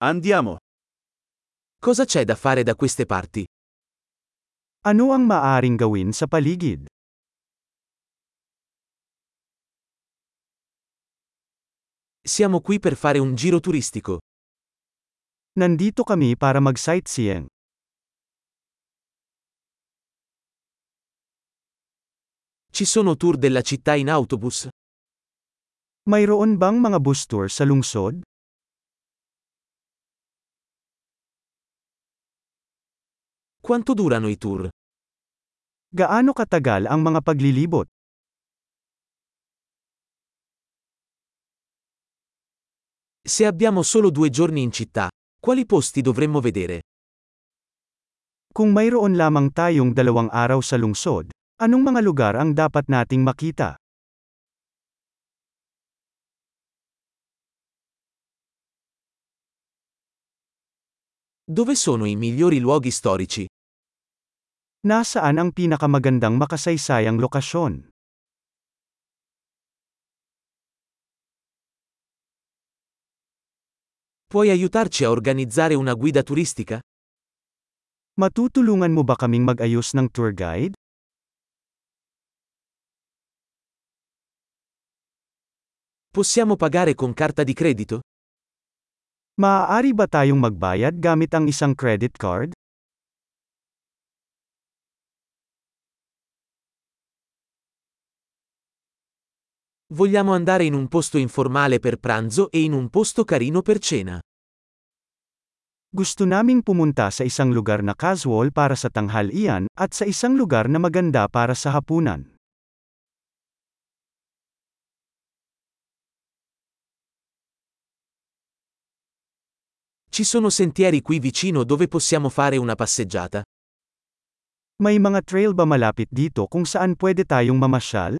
Andiamo. Cosa c'è da fare da queste parti? Ano ang maaring gawin sa paligid? Siamo qui per fare un giro turistico. Nandito kami para mag-sightseeing. Ci sono tour della città in autobus? Mayroon bang mga bus tour sa lungsod? Quanto durano i tour? Gaano katagal ang mga paglilibot? Se abbiamo solo 2 giorni in città, quali posti dovremmo vedere? Kung mayroon lamang tayong 2 araw sa lungsod, anong mga lugar ang dapat nating makita? Dove sono i migliori luoghi storici? Nasaan ang pinakamagandang makasaysayang lokasyon? Puoi aiutarci a organizzare una guida turistica? Matutulungan mo ba kaming mag-ayos ng tour guide? Possiamo pagare con carta di credito? Maaari ba tayong magbayad gamit ang isang credit card? Vogliamo andare in un posto informale per pranzo e in un posto carino per cena. Gusto naming pumunta sa isang lugar na casual para sa tanghalian, at sa isang lugar na maganda para sa hapunan. Ci sono sentieri qui vicino dove possiamo fare una passeggiata? May mga trail ba malapit dito kung saan pwede tayong mamasyal?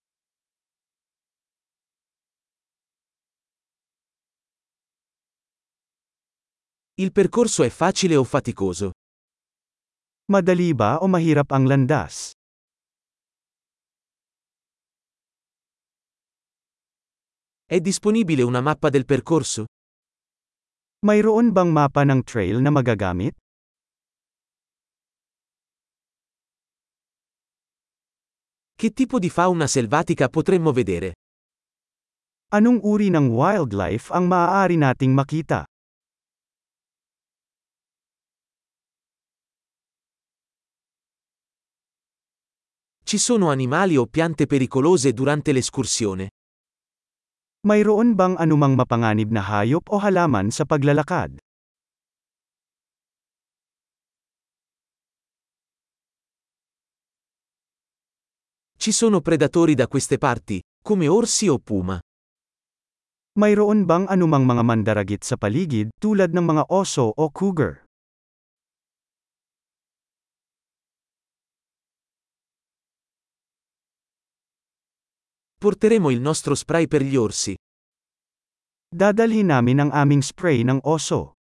Il percorso è facile o faticoso? Madali ba o mahirap ang landas? È disponibile una mappa del percorso? Mayroon bang mapa ng trail na magagamit? Che tipo di fauna selvatica potremmo vedere? Anong uri ng wildlife ang maaari nating makita? Ci sono animali o piante pericolose durante l'escursione? Mayroon bang anumang mapanganib na hayop o halaman sa paglalakad? Ci sono predatori da queste parti, come orsi o puma? Mayroon bang anumang mga mandaragit sa paligid, tulad ng mga oso o cougar? Porteremo il nostro spray per gli orsi. Dadalhin namin ang aming spray ng oso.